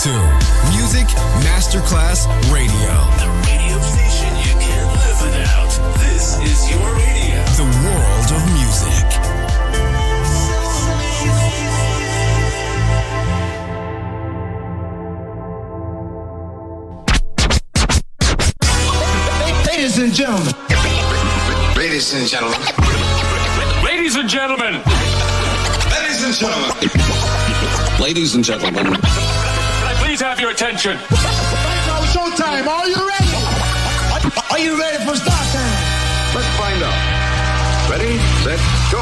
to Music Masterclass Radio. The radio station you can't live without. This is your radio. The world of music. Ladies and gentlemen. Ladies and gentlemen. Ladies and gentlemen. Ladies and gentlemen. Ladies and gentlemen. Can I please have your attention? Right now, showtime. Are you ready? Are you ready for start time? Let's find out. Ready, set, go.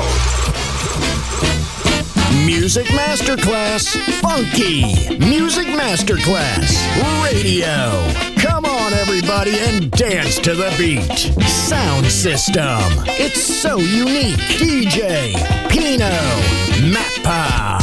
Music Masterclass Funky. Music Masterclass Radio. Come on, everybody, and dance to the beat. Sound system. It's so unique. DJ Pino Mappa.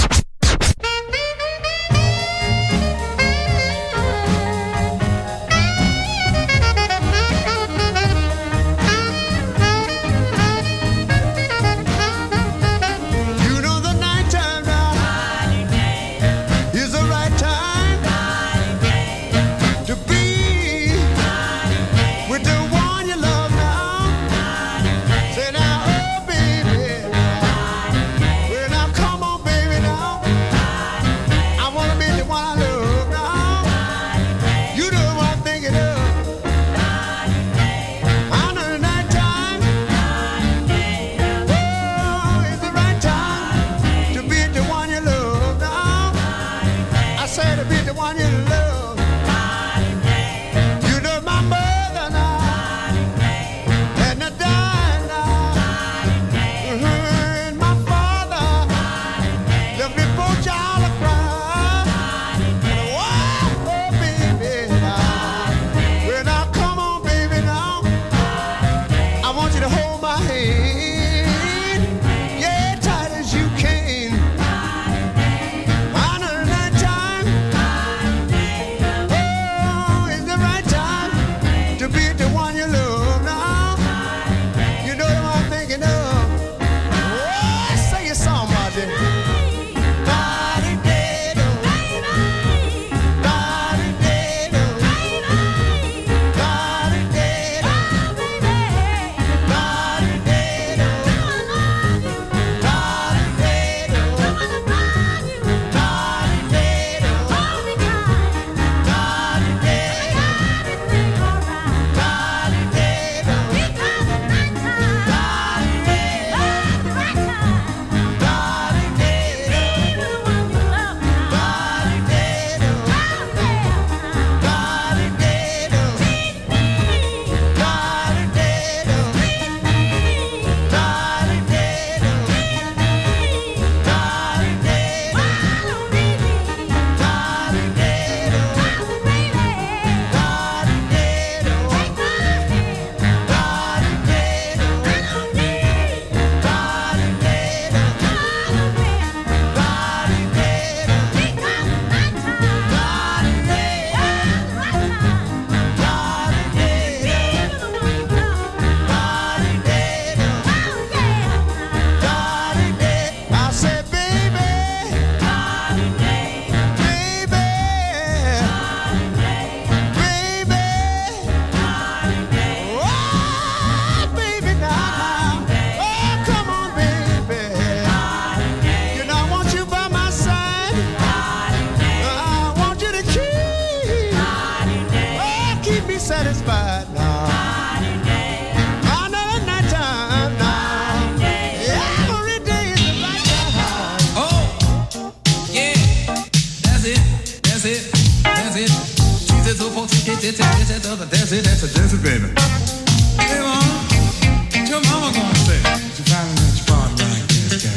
That's it, baby. Hey, mama, what your mama gonna say? You finally let your father like this guy.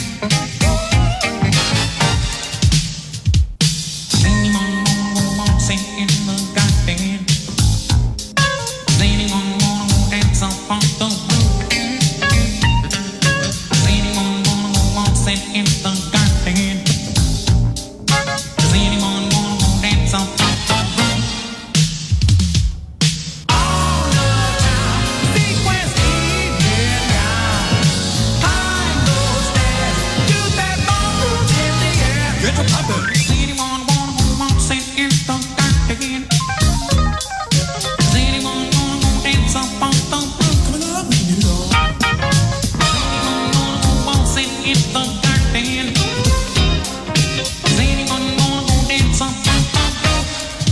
Anyone wanna sing in the garden? Anyone wanna dance up on the roof? Anyone wanna sing in the garden? Does anyone wanna dance up on the roof? Oh no! in the garden. Is anyone gonna go dance on the roof?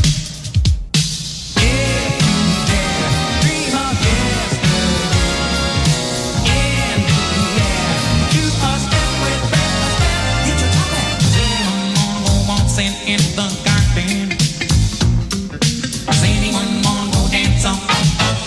Yeah, dream of yesterday. Yeah, do a step with breath, a step, get your top back. Is anyone gonna go waltzing in the garden? Is anyone gonna go dance on the roof?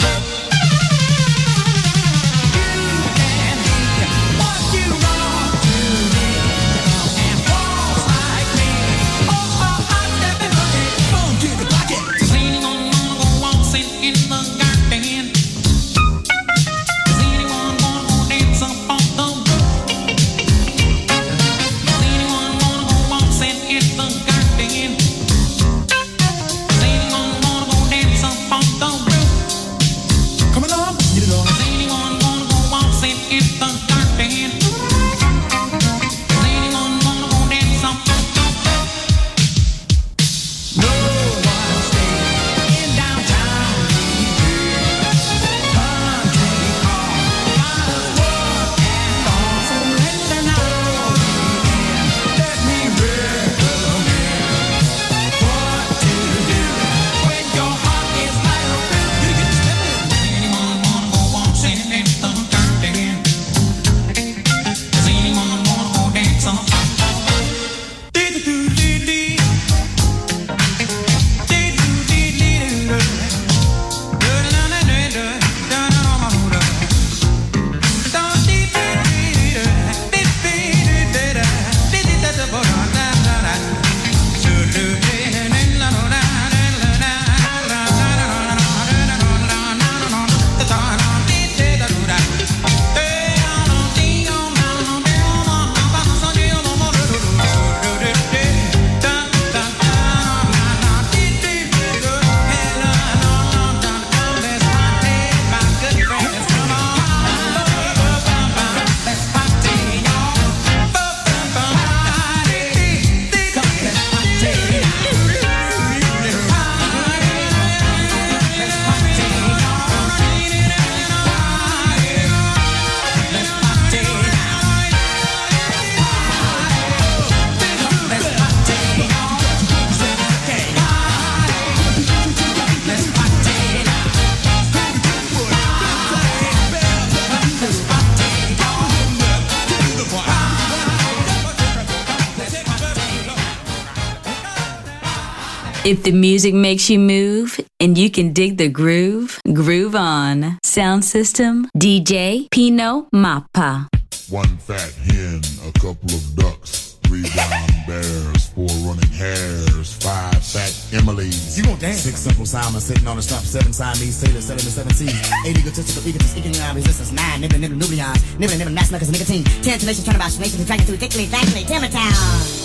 If the music makes you move and you can dig the groove, groove on. Sound system, DJ Pino Mappa. One fat hen, a couple of ducks, 3 brown bears, 4 running hares, 5 fat Emily's. You gon' dance. 6 simple Simons sitting on the stump, 7 Siamese sailors, 7 to 7 seas, 8 egotistical egotists, eking out resistance, 9 nibbling nucleons, nibbling mass knuckles and nicotine, 10 tenacious turnabout nations attracted to thickly, thankfully, Timbertown.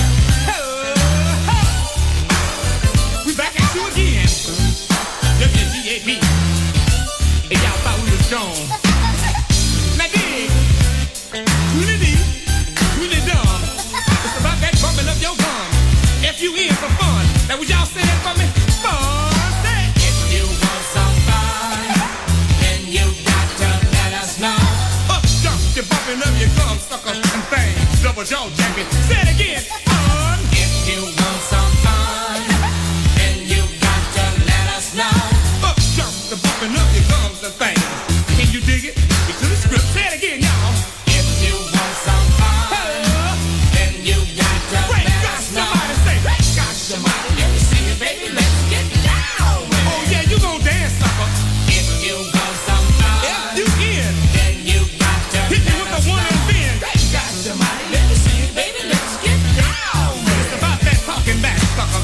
Back at you again. WGAP. And y'all thought we was gone. Now dig. Really deep. Really dumb. It's about that bumping of your gum. If you in for fun. Now would y'all say it for me? Fun. Say it. If you want some fun, then you got to let us know. Up jump, you're bumping up your gum, suckers and things. Double jaw jacket. Say it again. Fun. If you want some fun, the bumping of your gums and things. Can you dig it? Get to the script. Say it again, y'all. If you want some fun, then you got to let us know. Somebody say, got somebody, let me see it, baby. Let's get down with it. Oh yeah, you gon' dance, sucker. If you want some fun, if you in, then you got to hit me with the one and then. Got somebody, let me see it, baby. Let's get down with it. It's about that talking back, sucker.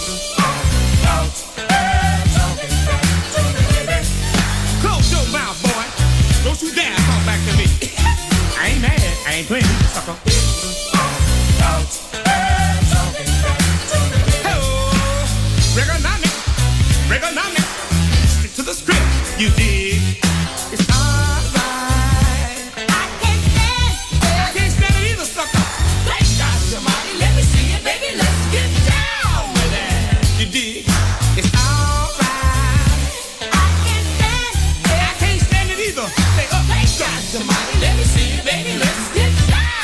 Don't you dare talk back to me. I ain't mad. I ain't playing, sucker. Regonomics. Stick to the script. You dig? It's alright. I can't stand it either, sucker. Thank God somebody, let me see it, baby. Let's get down with it. You dig? It's alright. I can't stand it either. Somebody, let me see you, baby. Let's get down.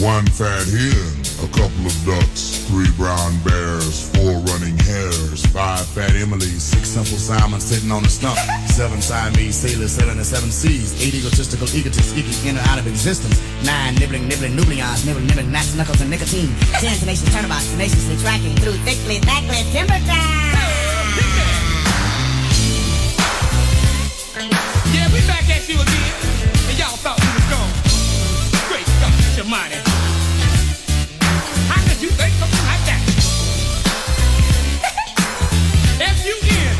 1 fat hen, a couple of ducks, 3 brown bears, 4 running hares, 5 fat Emilys, 6 simple Simons sitting on a stump, 7 Siamese sailors sailing the 7 seas, 8 egotistical egotists eking in or out of existence, 9 nibbling nucleons, nibbling gnats, knuckles, and nicotine, 10 tenacious turnabouts, tenaciously tracking through thickly timber town. Yeah, we back at you again, and y'all thought we was gone. Great God, Almighty. How could you think something like that? F-U-N.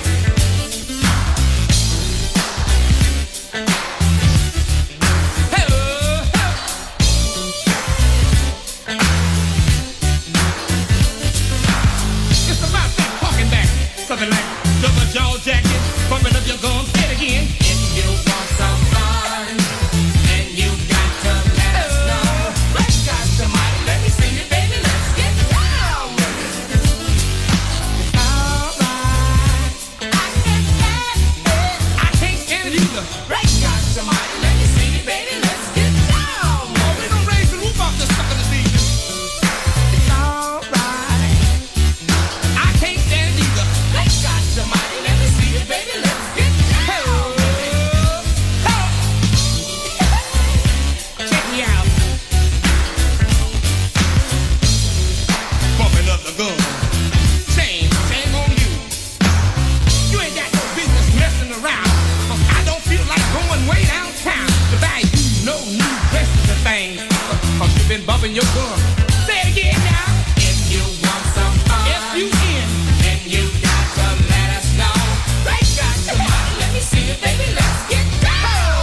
It's about that talking back. Something like double jaw jacket, bumping up your gums, say it again. If you want some fun, and you got to let us know. Right, got somebody, let me see you, baby, let's get down with it. All right. I can't stand it either. Right, got somebody, let me see you, baby, let's get down. Oh, we gonna raise the roof off this sucker this evening. It's all right. I can't stand it either. Right, got somebody, let me see you, baby, let's get down. Check me out. Bumping up the gun. Shame on you. You ain't got no business messing around. I don't feel like going way downtown to buy you no new dresses and things. Cause you've been bumping your gun. Say it again now. If you want some fun, F-U-N, then you got to let us know. Right, got somebody, let me see you, baby, let's get down.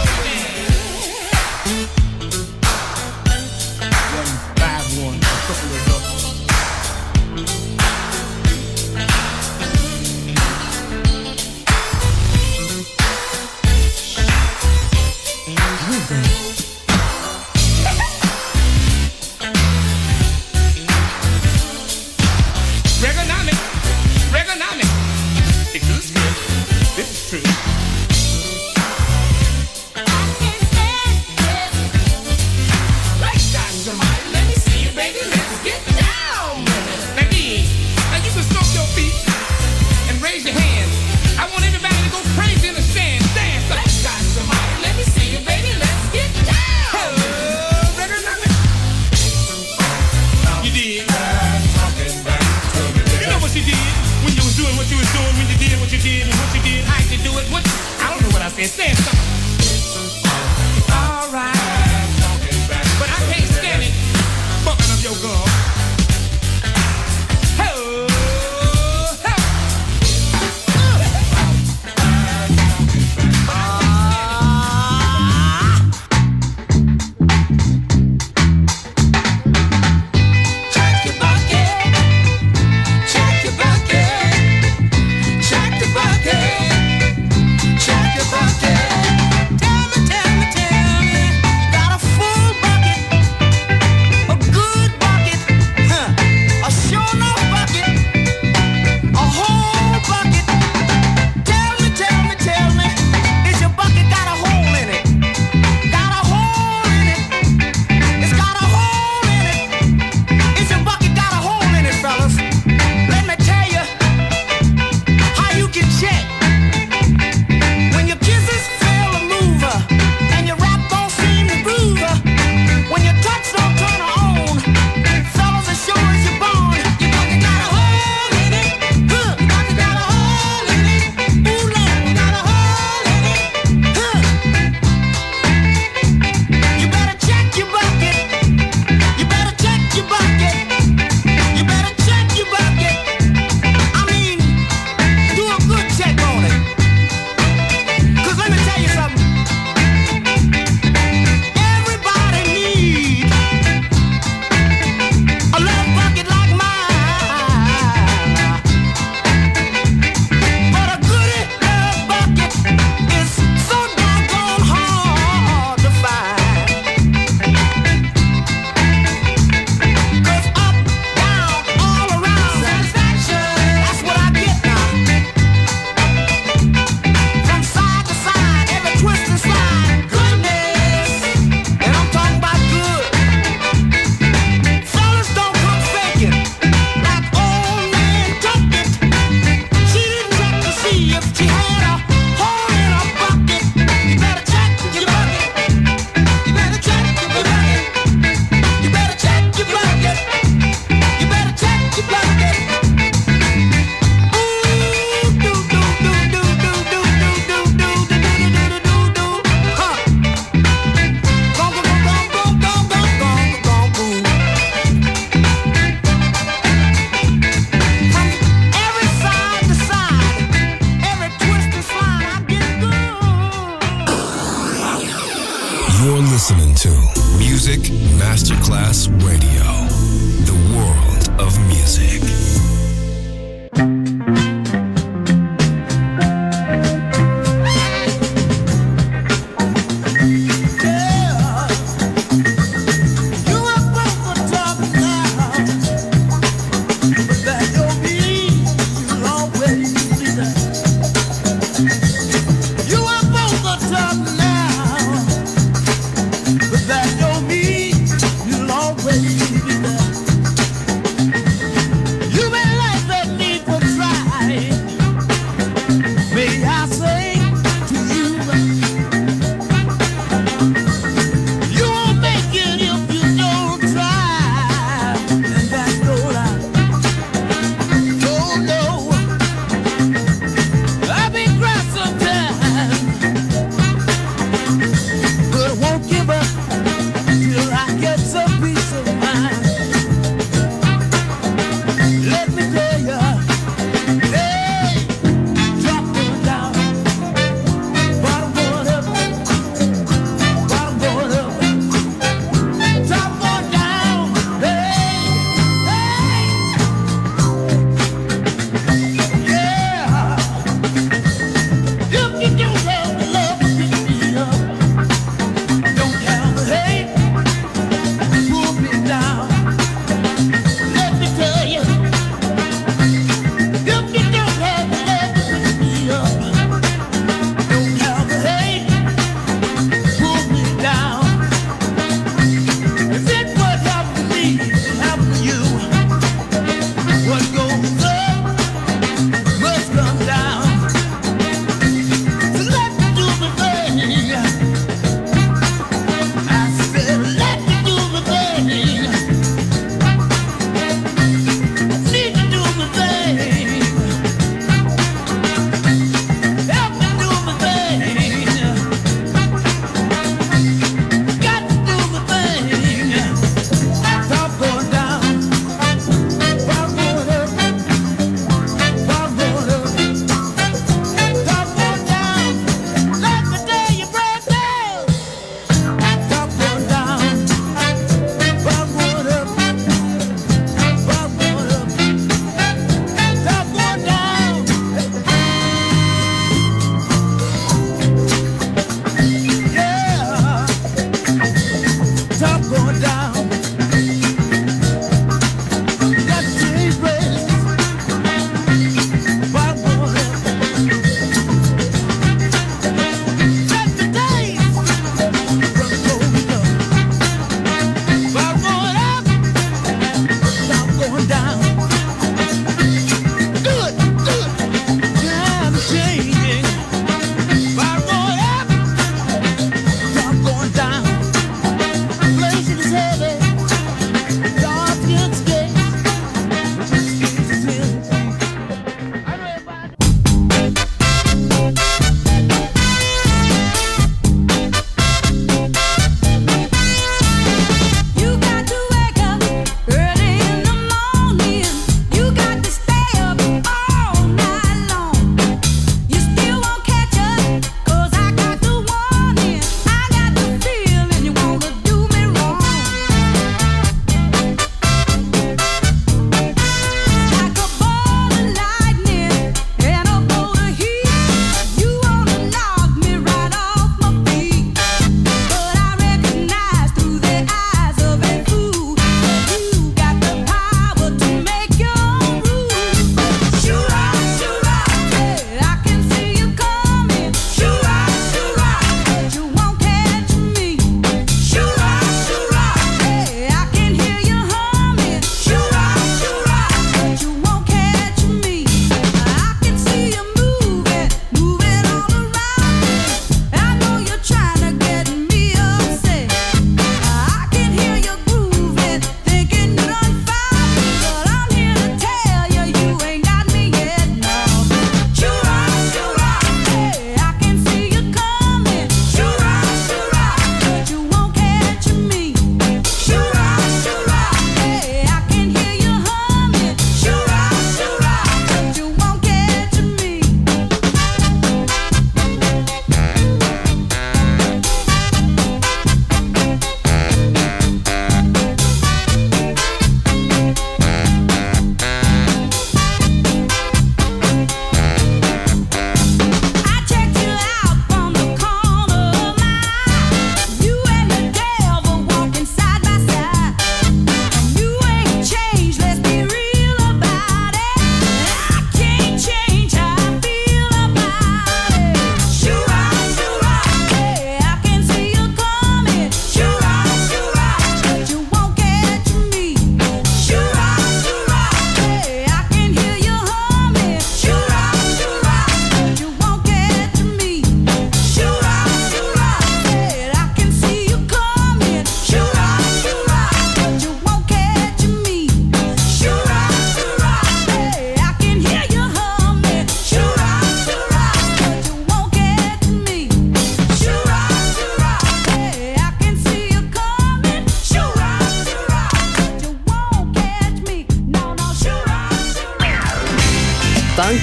151, a couple of ducks. Regonomic. It is good. This is true. Right, got somebody, let me see you, baby, let's get down. Now, you can stomp your feet and raise your hands. I want everybody to go crazy in the stand. Dance. Right, got somebody, let me see you, baby, let's get down. Regonomic. You did. You know what you did when you was doing what you was doing, when you did what you did, and what you did, how you do it, what, I don't know what I said, stand something. All right. But I can't stand it, bumping up your gum. Check your bucket. Music Masterclass Radio. The world of music. You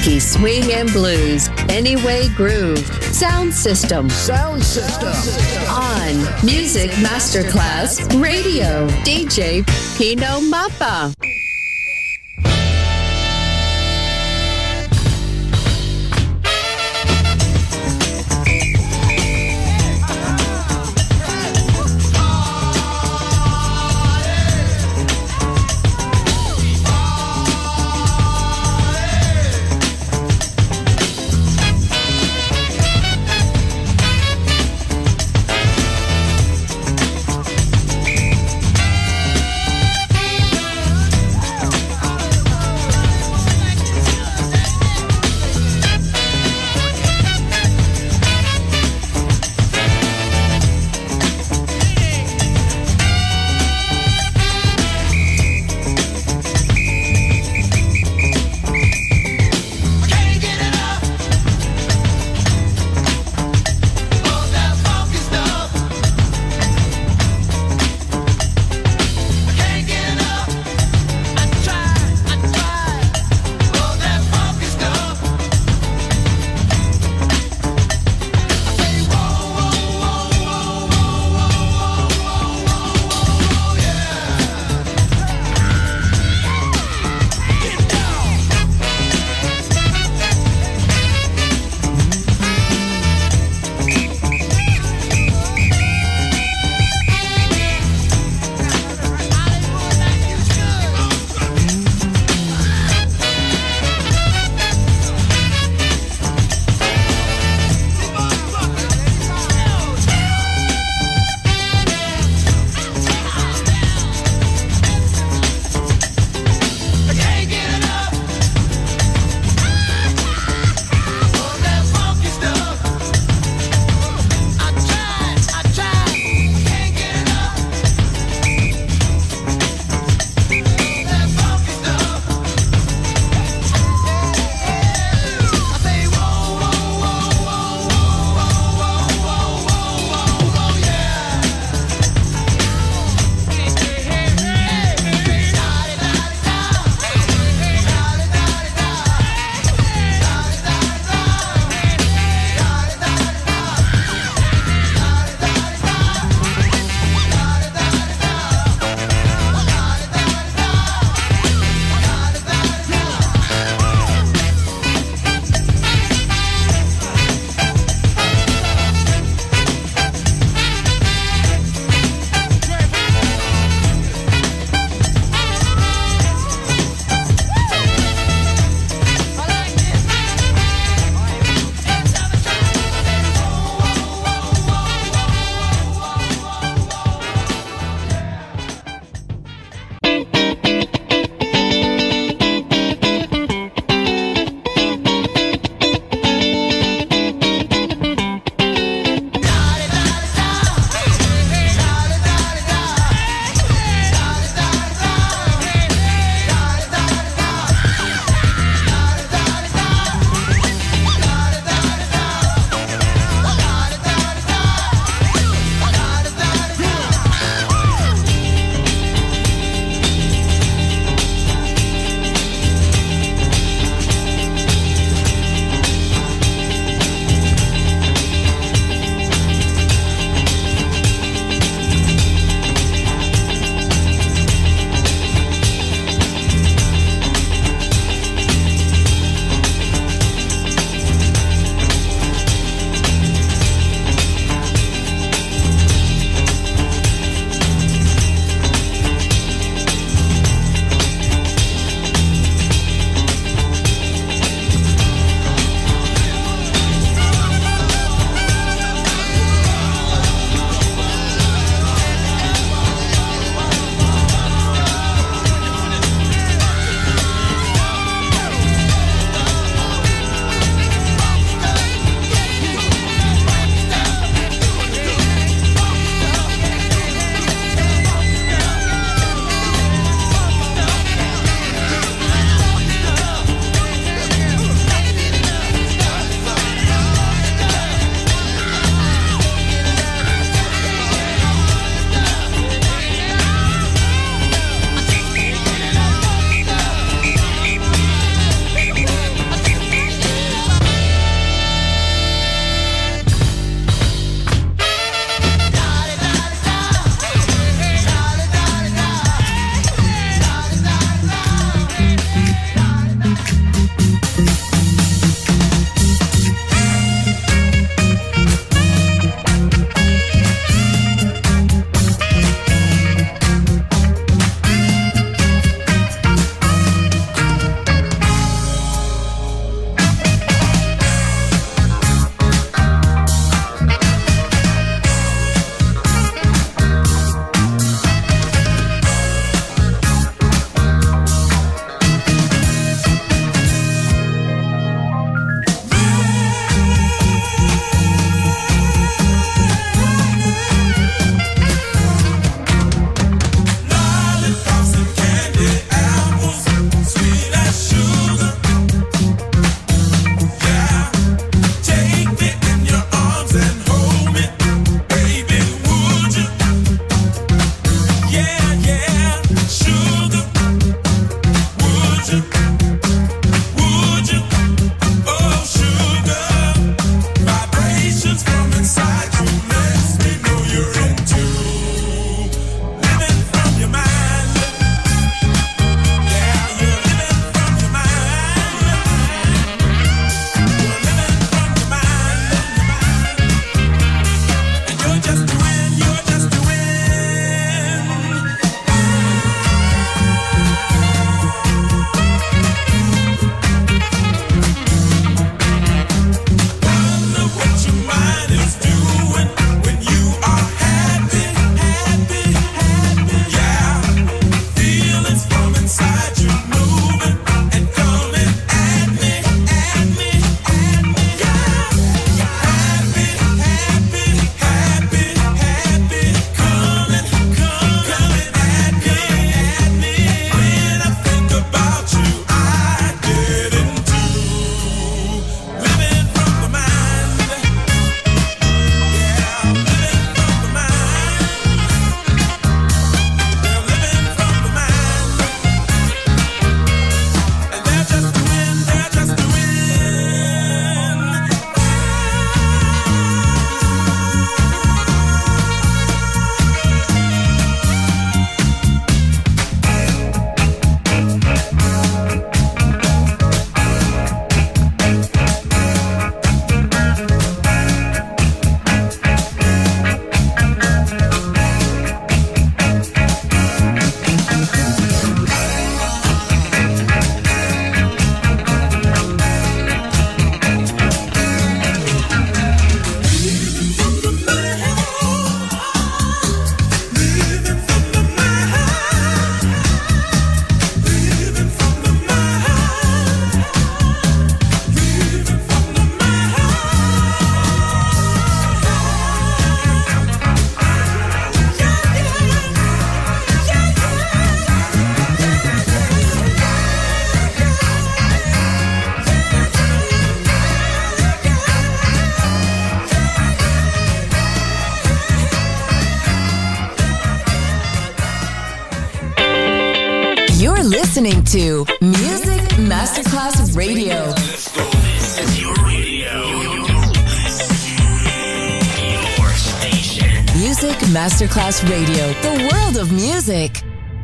funky swing and blues. Anyway Groove. Sound System. On Music Masterclass Radio. DJ Pino Mappa. listening to Music Masterclass Radio. Let's go. This is your radio. Your station. Music Masterclass Radio, the world of music.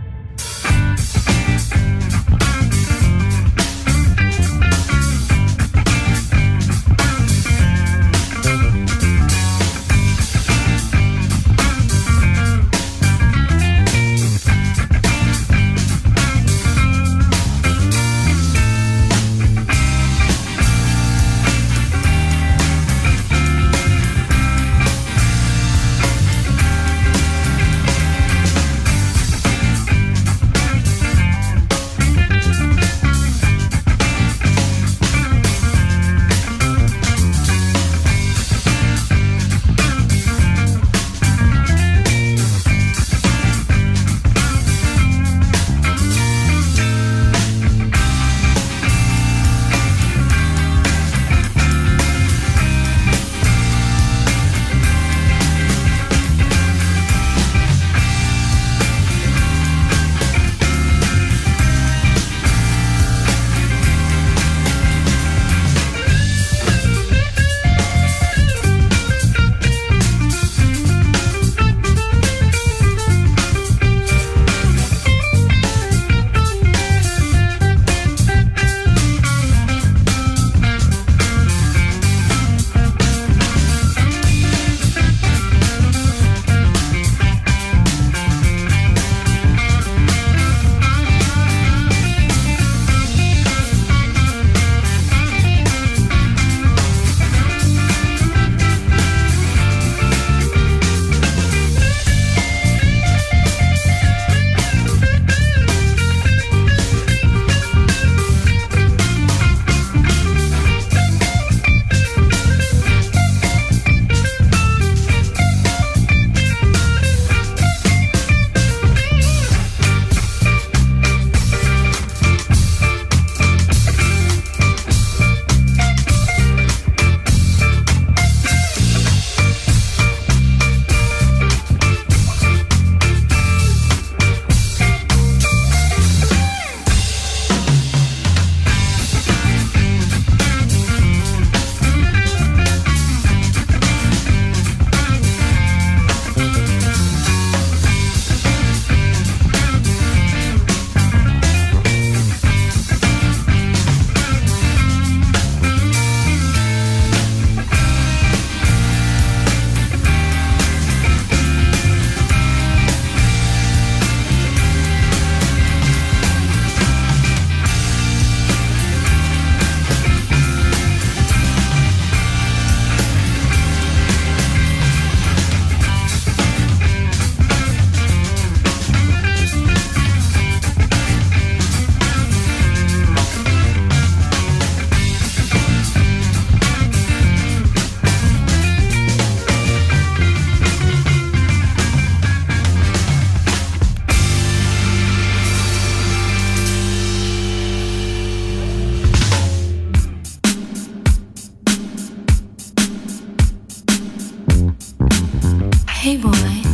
Hey boy,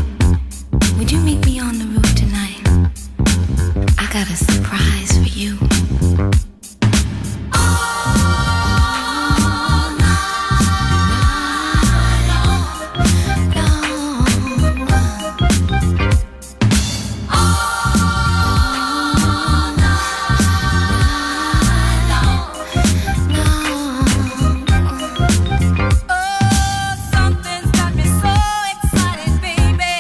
would you meet me on the roof tonight? I got a surprise for you. Something's got me so excited, baby.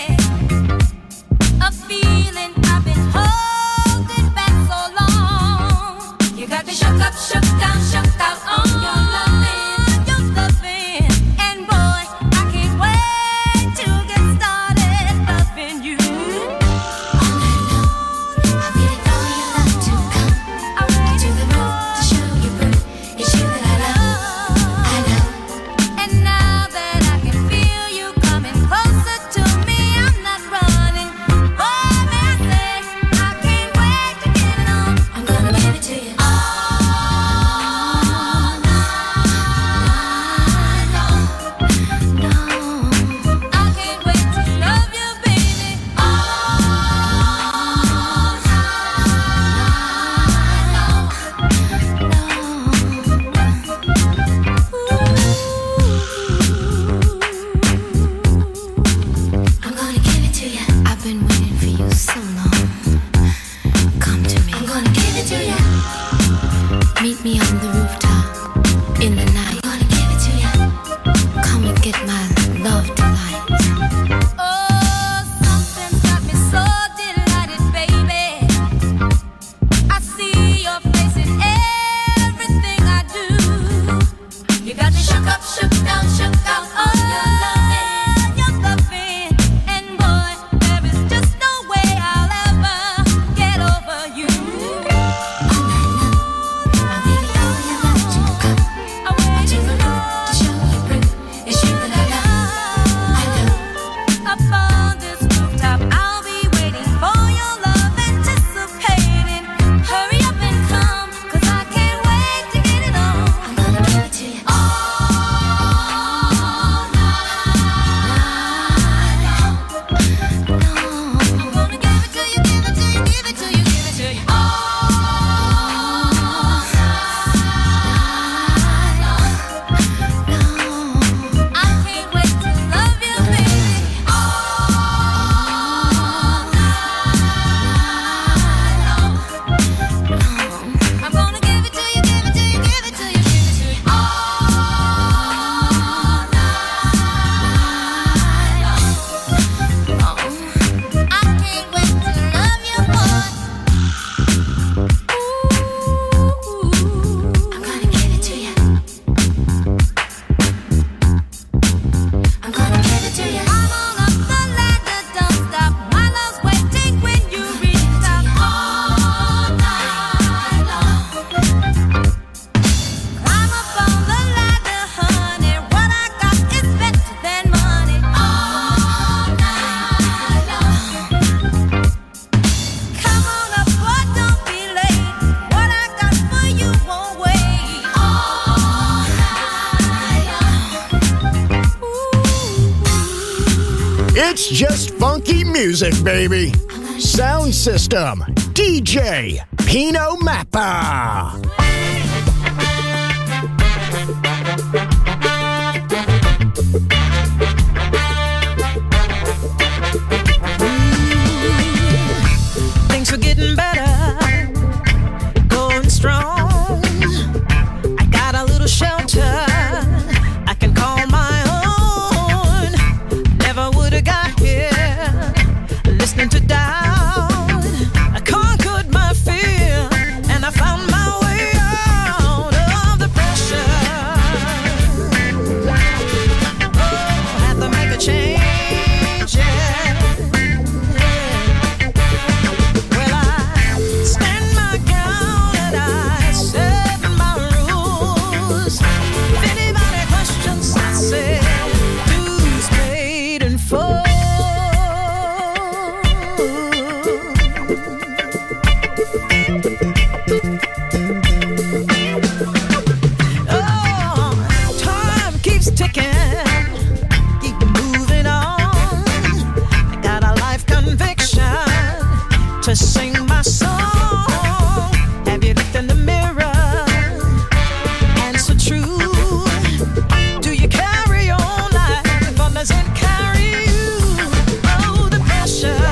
It's just funky music, baby. Sound System, DJ Pino Mappa. Things are getting better, going strong. I got a little shelter I can call my own. Never would have got here listening to doubt. I conquered my fear and I found my way out of the pressure. Oh, had to make a change, yeah. Well, I stand my ground and I set my rules. If anybody questions, I say, dues paid in full. Oh, time keeps ticking, keep moving on. I got a life conviction to sing my song. Have you looked in the mirror? Answer true. Do you carry on life or does it carry you? Oh, the pressure.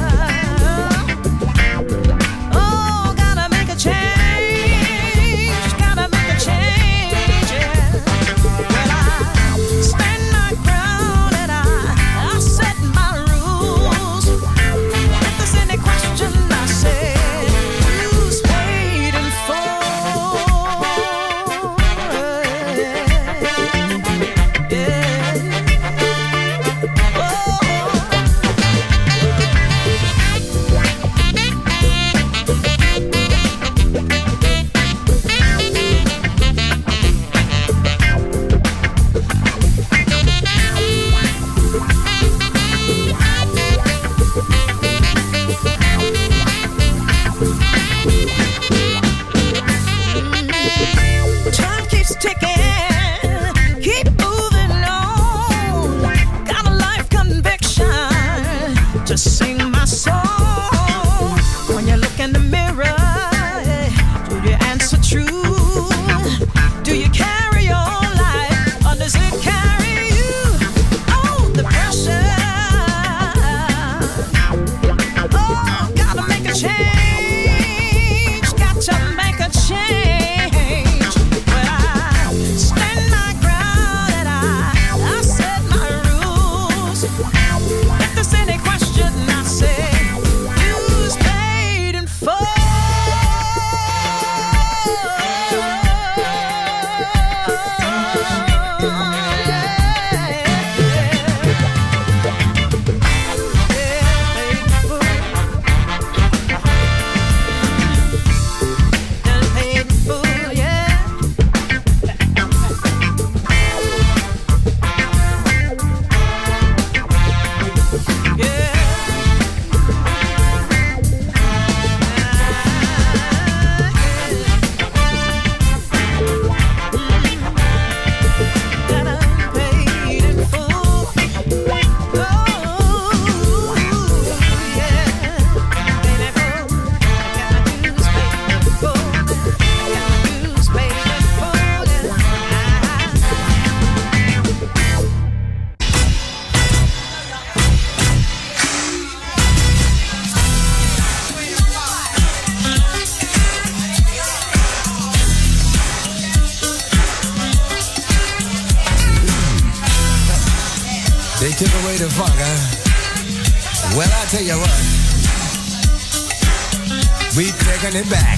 Oh, gotta make a change. Gotta make a change, yeah. Well, I stand my ground and I set my rules. If there's any question, I say, dues paid in full. Time keeps ticking, keep moving on. Got a life conviction to sing my song. When you look in the mirror, do you answer true? Do you carry on life or does it carry you? Oh, the pressure. Oh, gotta make a change. Got to make a change. But I stand my ground and I set my rules. If there's any question, I say, dues paid in full. They took away the funk, huh? Well, I tell you what, we taking it back.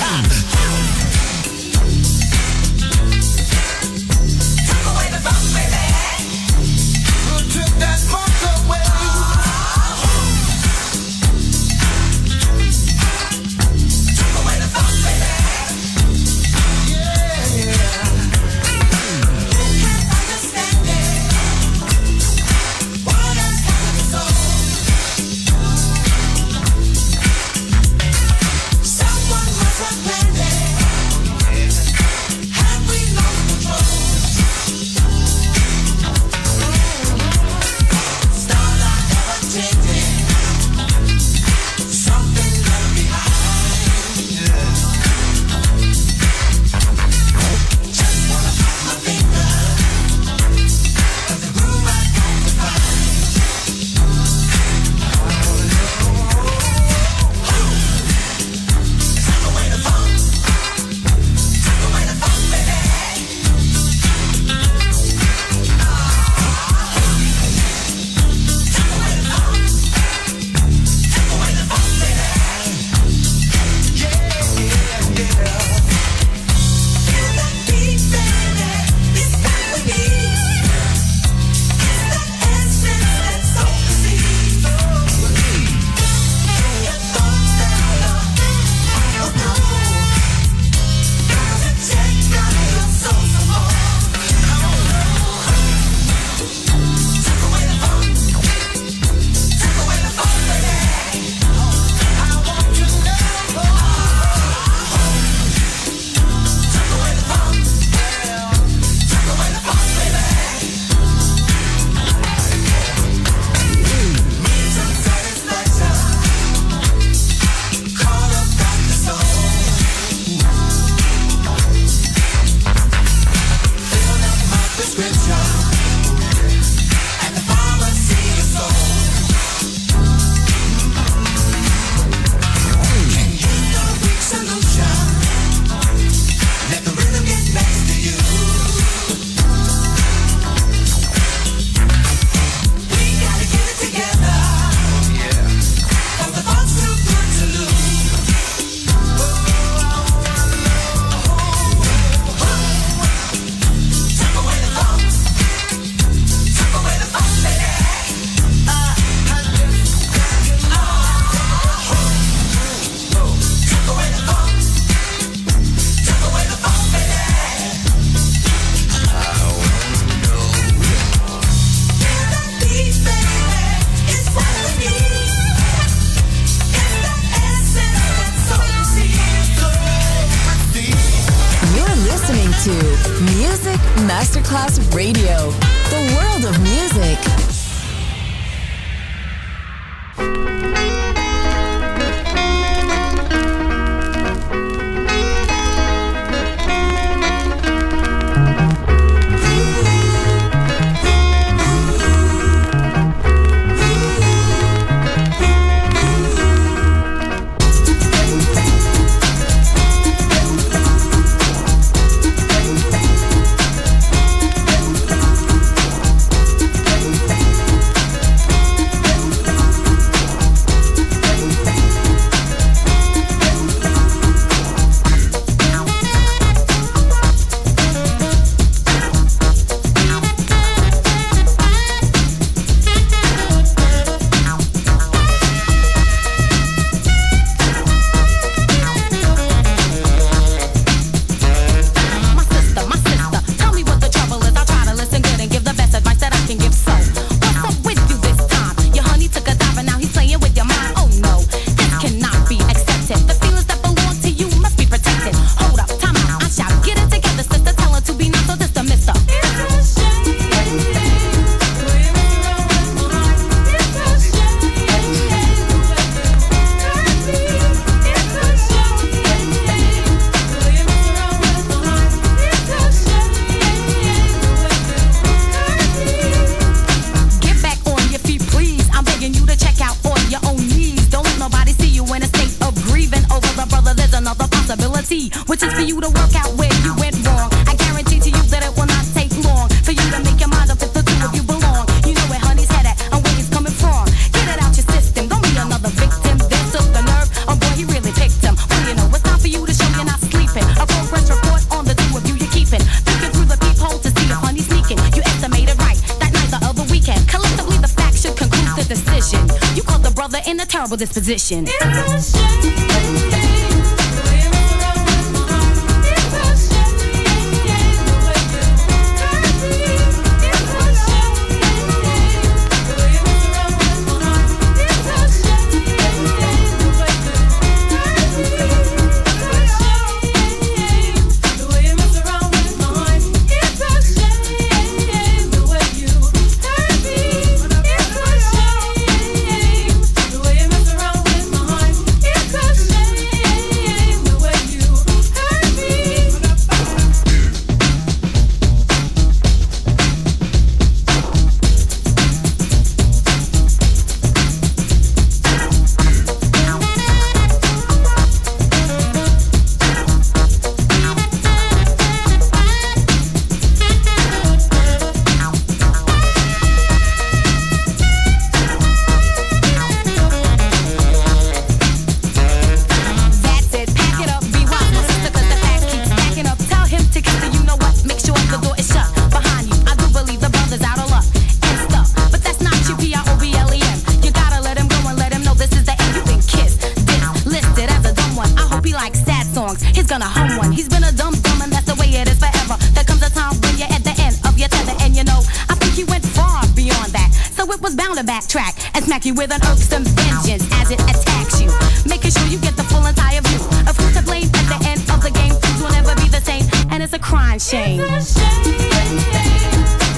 Took away the funk, baby. Who took that funk away? Took away the funk, baby. Yeah. Who can understand it? What has happened to soul? Someone must have planned it. Masterclass Radio, the world of music. Which is for you to work out where you went wrong. I guarantee to you that it will not take long for you to make your mind up if the two of you belong. You know where honey's head at and where he's coming from. Get it out your system, don't be another victim. This took the nerve, oh boy, he really picked him. Well, you know, it's time for you to show you're not sleeping. A progress report on the two of you you're keeping. Peeking through the peephole to see if honey's sneaking. You estimated right that night the other weekend. Collectively, the facts should conclude the decision. You caught the brother in a terrible disposition. It's a shame. Gonna hum one. He's been a dumb and that's the way it is forever. There comes a time when you're at the end of your tether, and you know, I think he went far beyond that. So it was bound to backtrack and smack you with an irksome vengeance as it attacks you, making sure you get the full entire view of who's to blame at the end of the game. Things will never be the same, and it's a crying shame. It's a shame.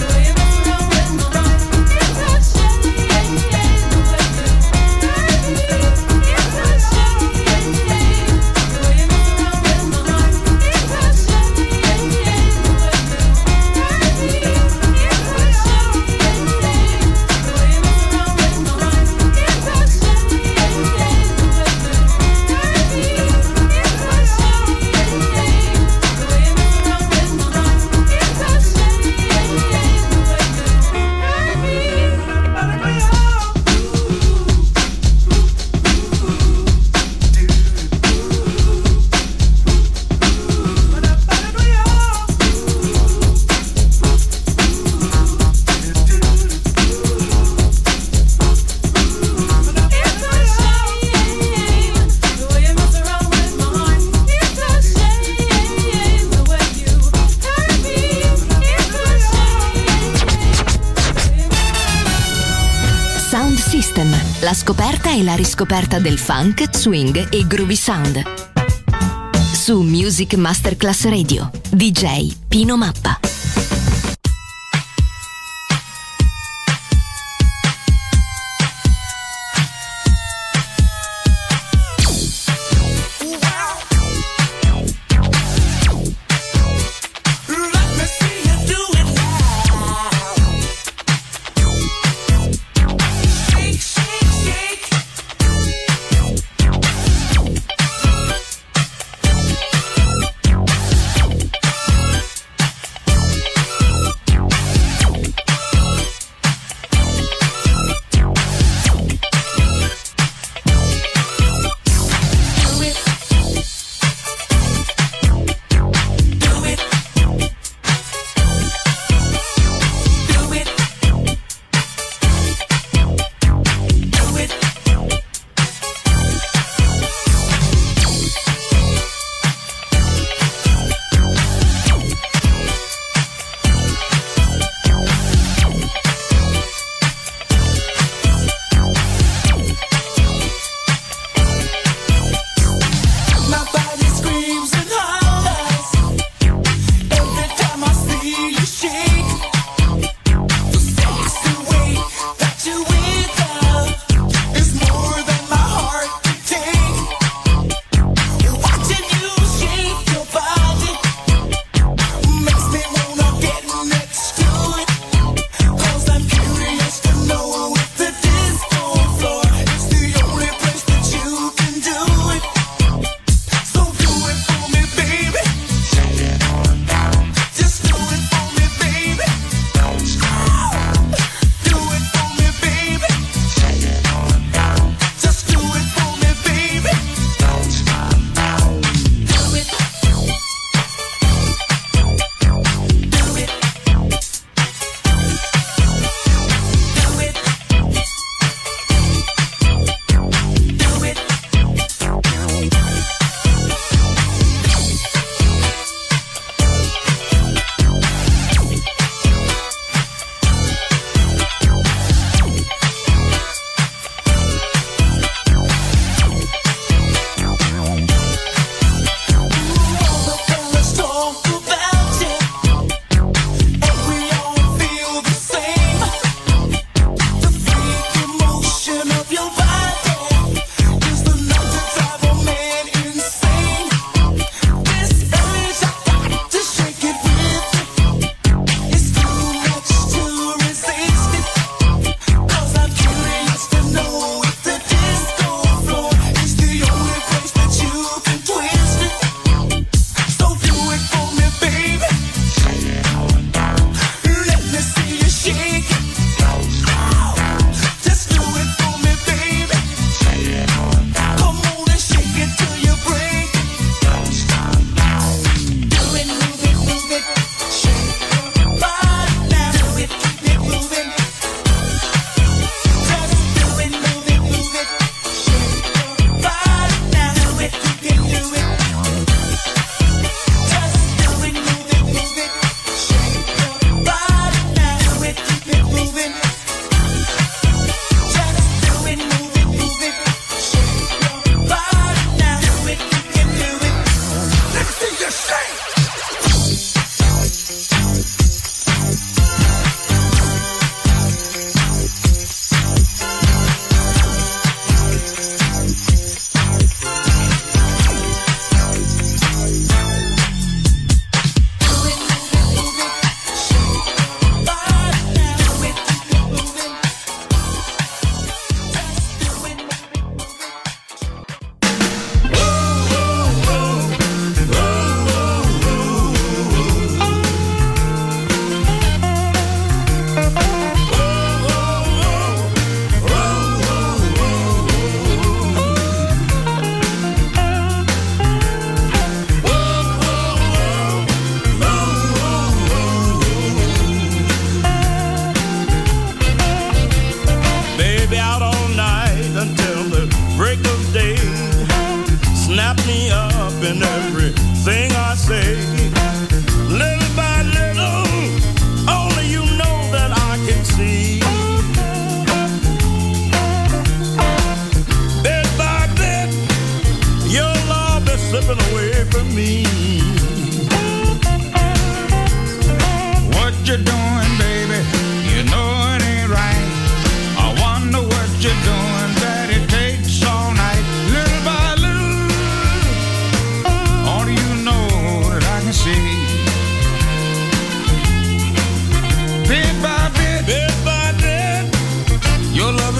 La scoperta e la riscoperta del funk, swing e groovy sound. Su Music Masterclass Radio, DJ Pino Mappa.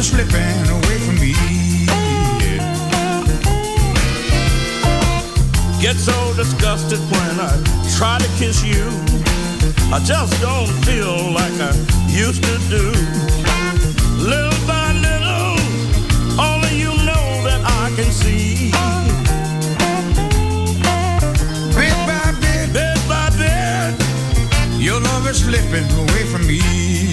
is slipping away from me. Get so disgusted when I try to kiss you. I just don't feel like I used to do. Little by little, only you know that I can see. Bit by bit, your love is slipping away from me.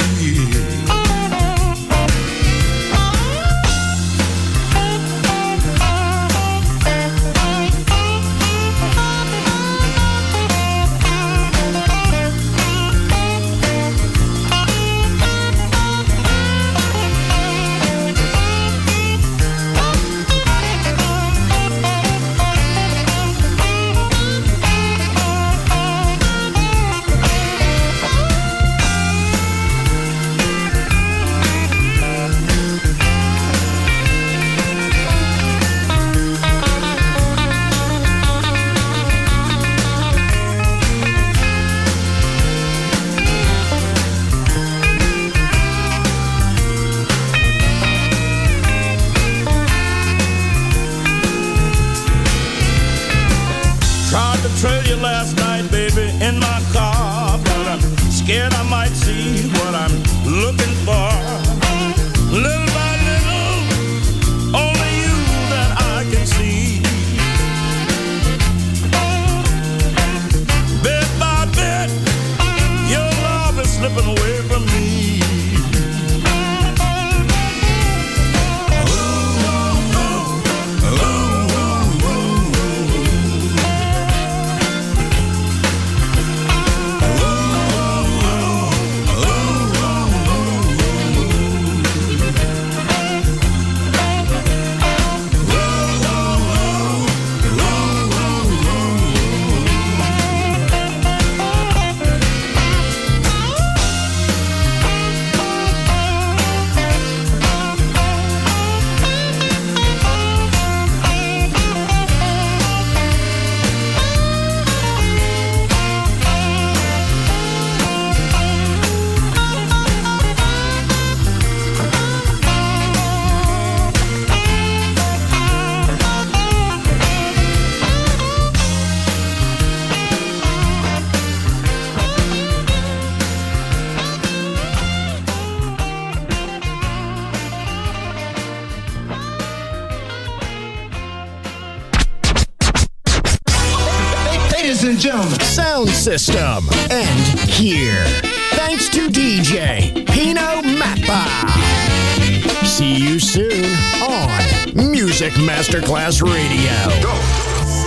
Trail you last night, baby, in my car, but I'm scared I might see what I'm looking for. Little by little, only you that I can see. Bit by bit, your love is slipping away from me. Sound system. And here. Thanks to DJ Pino Mappa. See you soon on Music Masterclass Radio. Go.